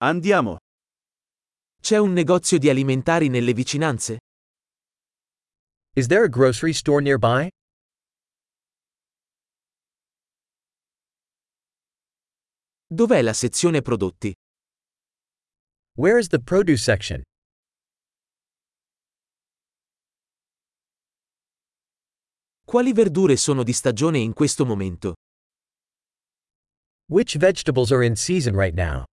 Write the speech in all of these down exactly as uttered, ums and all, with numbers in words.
Andiamo. C'è un negozio di alimentari nelle vicinanze? Is there a grocery store nearby? Dov'è la sezione prodotti? Where is the produce section? Quali verdure sono di stagione in questo momento? Which vegetables are in season right now?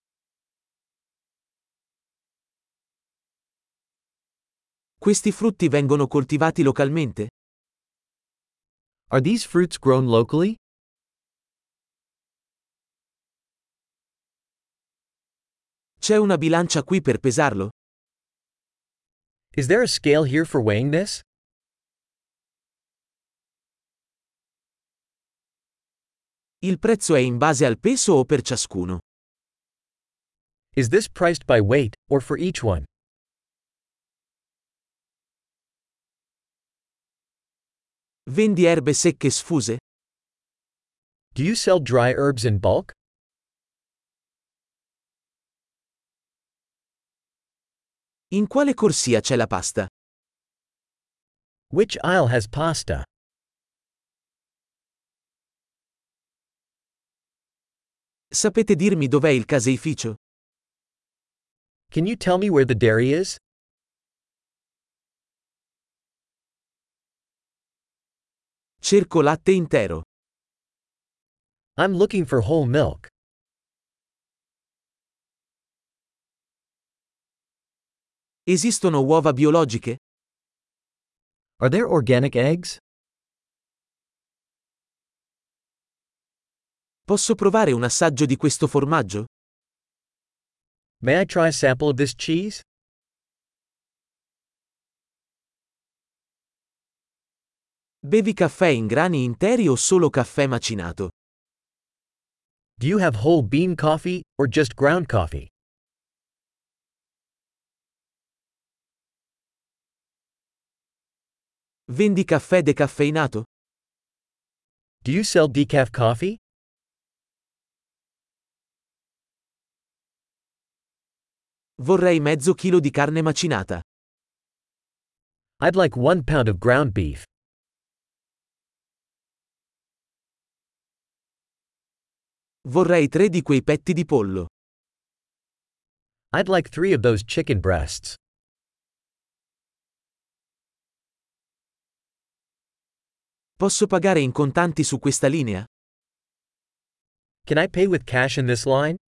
Questi frutti vengono coltivati localmente? Are these fruits grown locally? C'è una bilancia qui per pesarlo? Is there a scale here for weighing this? Il prezzo è in base al peso o per ciascuno? Is this priced by weight, or for each one? Vendi erbe secche sfuse? Do you sell dry herbs in bulk? In quale corsia c'è la pasta? Which aisle has pasta? Sapete dirmi dov'è il caseificio? Can you tell me where the dairy is? Cerco latte intero. I'm looking for whole milk. Esistono uova biologiche? Are there organic eggs? Posso provare un assaggio di questo formaggio? May I try a sample of this cheese? Bevi caffè in grani interi o solo caffè macinato? Do you have whole bean coffee, or just ground coffee? Vendi caffè decaffeinato? Do you sell decaf coffee? Vorrei mezzo chilo di carne macinata. I'd like one pound of ground beef. Vorrei tre di quei petti di pollo. I'd like three of those chicken breasts. Posso pagare in contanti su questa linea? Can I pay with cash in this line?